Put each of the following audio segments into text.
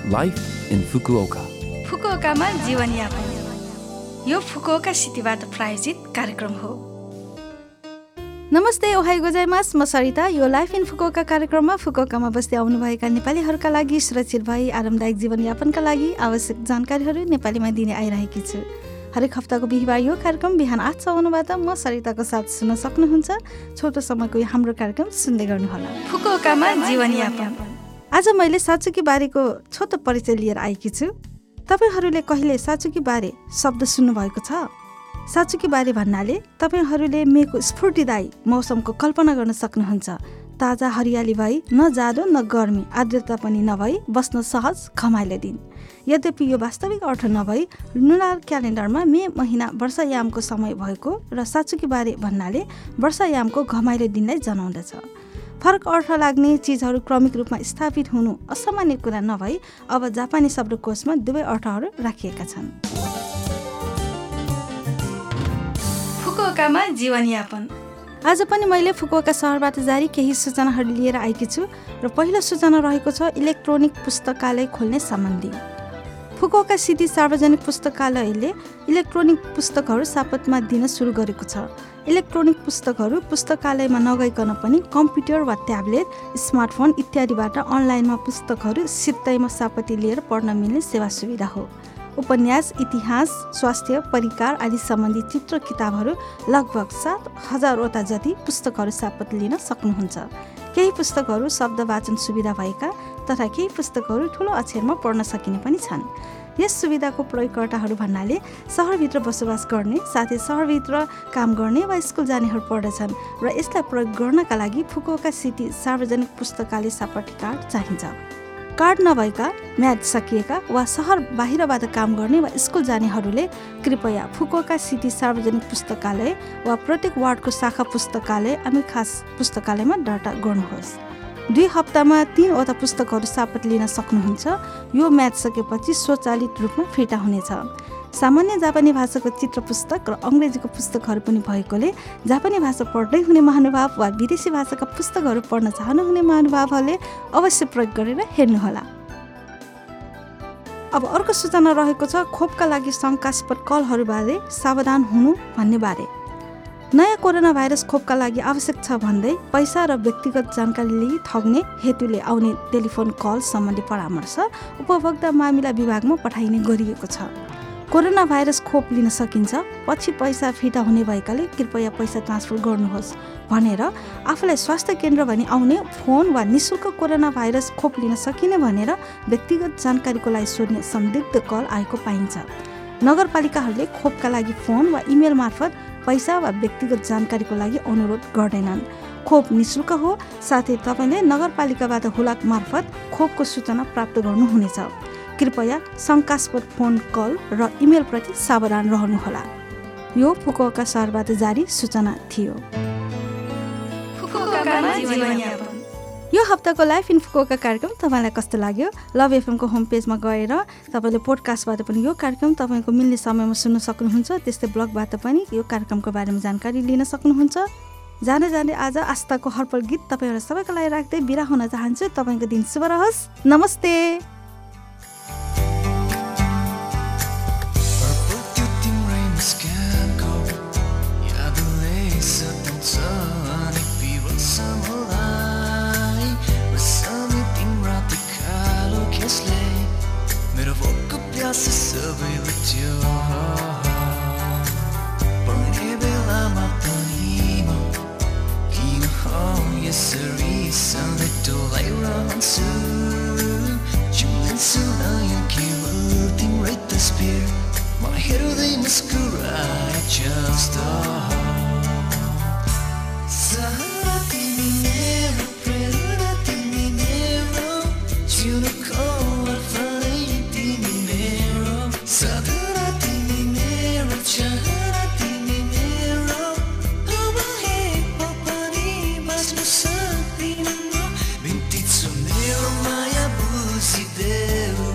Life in Fukuoka. फुकुओकामा जीवनयापन यो Fukuoka सिटीबाट प्रायोजित कार्यक्रम हो। नमस्ते, ओहाई गोजाइमास, म सरिता। यो लाइफ इन फुकुओका कार्यक्रममा फुकुओकामा बस्दै आउनुभएका नेपालीहरूका लागि सुरक्षित भई आरामदायक जीवनयापनका लागि आवश्यक जानकारीहरू नेपालीमा दिने आइरहेकी छु। हरेक हप्ताको बिहिबार यो कार्यक्रम बिहान 8:59बाट म सरिताको साथ सुन्न सक्नुहुन्छ। छोटो समयको यो हाम्रो कार्यक्रम सुन्दै गर्नुहोला। फुकुओकामा जीवनयापन। आज मैले साचुकी बारेको छोटो परिचय लिएर आएकी छु। तपाईहरूले कहिले साचुकी बारे शब्द सुन्नुभएको छ? साचुकी बारे भन्नाले तपाईहरूले मेको स्फूर्तिदायी मौसमको कल्पना गर्न सक्नुहुन्छ। ताजा हरियाली भई न जाडो न गर्मी, आर्द्रता पनि नभई बस्न सहज घमाइलो दिन। यद्यपि यो वास्तविक अर्थ नभई लुनार क्यालेन्डरमा मे महिना वर्षायामको समय भएको र साचुकी बारे भन्नाले वर्षायामको घमाइलो दिनलाई जनाउँदछ। फरक अर्थ लाग्ने चिजहरू क्रमिक रूपमा स्थापित हुनु असामान्य कुरा नभई अब जापानी शब्दकोशमा दुवै अर्थहरू राखिएका छन्। फुकुओकामा जीवनयापन। आज पनि मैले फुकुओका सहरबाट जारी केही सूचनाहरू लिएर आएकी छु र पहिलो सूचना रहेको छ इलेक्ट्रोनिक पुस्तकालय खोल्ने सम्बन्धी। फुकुओका सिटी सार्वजनिक पुस्तकालयले इलेक्ट्रोनिक पुस्तकहरू सापतमा दिन सुरु गरेको छ। इलेक्ट्रोनिक पुस्तकहरू पुस्तकालयमा नगइकन पनि कम्प्युटर वा ट्याब्लेट, स्मार्टफोन इत्यादिबाट अनलाइनमा पुस्तकहरू सित्तैमा सापती लिएर पढ्न मिल्ने सेवा सुविधा हो। उपन्यास, इतिहास, स्वास्थ्य, परिकार आदि सम्बन्धी चित्र किताबहरू लगभग 7,000वटा जति पुस्तकहरू सापत लिन सक्नुहुन्छ। केही पुस्तकहरू शब्द वाचन सुविधा भएका तथा केही पुस्तकहरू ठुलो अक्षरमा पढ्न सकिने पनि छन्। यस सुविधाको प्रयोगकर्ताहरू भन्नाले सहरभित्र बसोबास गर्ने, साथै सहरभित्र काम गर्ने वा स्कुल जानेहरू पर्दछन् र यसलाई प्रयोग गर्नका लागि फुकुओका सिटी सार्वजनिक पुस्तकालय सापटी कार्ड चाहिन्छ। कार्ड नभएका, म्याद सकिएका वा सहर बाहिरबाट काम गर्ने वा स्कुल जानेहरूले कृपया फुकुओका सिटी सार्वजनिक पुस्तकालय वा प्रत्येक वार्डको शाखा पुस्तकालय अनि खास पुस्तकालयमा दर्ता गर्नुहोस्। 2 हप्तामा 3वटा पुस्तकहरू सापत लिन सक्नुहुन्छ। यो म्याद सकेपछि स्वचालित रूपमा फिर्ता हुनेछ। सामान्य जापानी भाषाको चित्र पुस्तक र अङ्ग्रेजीको पुस्तकहरू पनि भएकोले जापानी भाषा पढ्दै हुने महानुभाव वा विदेशी भाषाका पुस्तकहरू पढ्न चाहनुहुने महानुभावहरूले अवश्य प्रयोग गरेर हेर्नुहोला। अब अर्को सूचना रहेको छ खोपका लागि शङ्कास्पद कलहरूबारे सावधान हुनु भन्ने बारे। नयाँ कोरोना भाइरस खोपका लागि आवश्यक छ भन्दै पैसा र व्यक्तिगत जानकारी लिई ठग्ने हेतुले आउने टेलिफोन कल सम्बन्धी परामर्श उपभोक्ता मामिला विभागमा पठाइने गरिएको छ। कोरोना भाइरस खोप लिन सकिन्छ, पछि पैसा फिर्ता हुने भएकाले कृपया पैसा ट्रान्सफर गर्नुहोस् भनेर आफूलाई स्वास्थ्य केन्द्र भनी आउने फोन वा निःशुल्क कोरोना भाइरस खोप लिन सकिने भनेर व्यक्तिगत जानकारीको लागि सोध्ने संदिग्ध कल आएको पाइन्छ। नगरपालिकाहरूले खोपका लागि फोन वा इमेल मार्फत पैसा वा व्यक्तिगत जानकारीको लागि अनुरोध गर्दैनन्। खोप निःशुल्क हो, साथै तपाईँले नगरपालिकाबाट हुलाक मार्फत खोपको सूचना प्राप्त गर्नुहुनेछ। कृपया शङ्कास्पद फोन कल र इमेल प्रति सावधान रहनुहोला। यो फुकुओका सहरबाट जारी सूचना थियो। यो हप्ताको लाइफ इन फुकुओका कार्यक्रम तपाईँलाई कस्तो लाग्यो? लभ एफएमको होम पेजमा गएर तपाईँले पोडकास्टबाट पनि यो कार्यक्रम तपाईँको मिल्ने समयमा सुन्न सक्नुहुन्छ। त्यस्तै ब्लगबाट पनि यो कार्यक्रमको बारेमा जानकारी लिन सक्नुहुन्छ। जाने जाने आज आस्थाको हर्पल गीत तपाईँहरू सबैको लागि राख्दै बिदा हुन चाहन्छु। तपाईँको दिन शुभ रहोस्। नमस्ते। सबै लुच्यो पढ्ने बेलामा पनि म किन यसरी सधैँ डोलाइरहन्छु। जुलिन्छु नयाँ केवल तिम्रै तस्बिर म हेर्दै मुस्कुराए जस्तो। तिमी मेरो प्रेरणा, तिमी मेरो जीवनको सधैँ तिमी मेरो चाहना, तिमी मेरो अब हे पनि बाँच्न सक्दिनँ म। बिन्ती छु मेरो माया बुझिदेऊ।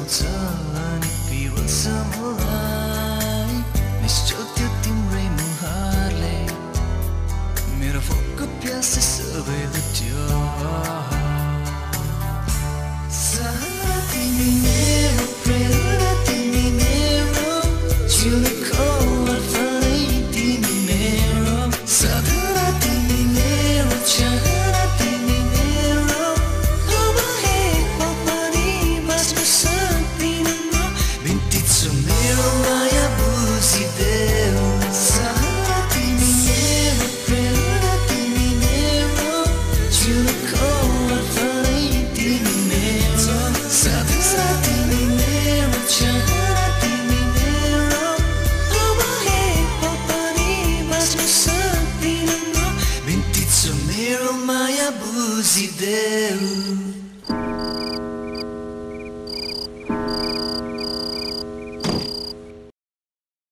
आउँछ अनि पिरोल्छ मलाई निश्चल त्यो तिम्रै मुहारले मेरो भोकको प्यास सबै लुट्यो सहारा तिमी मेरो प्रेरणा तिमी मेरो जिउको अर्पणै तिमी मेरो साधना तिमी मेरो चाहना तिमी मेरो अब हे पनि बाँच्न सक्दिनँ म बिन्ती छ मेरो माया बुझिदेऊ सहारा तिमी मेरो प्रेरणा तिमी मेरो जिउको अर्पणै तिमी मेरो साधना तिमी मेरो चाहना तिमी मेरो अब हे पनि बाँच्न सक्दिनँ म बिन्ती छ मेरो माया बुझिदेऊ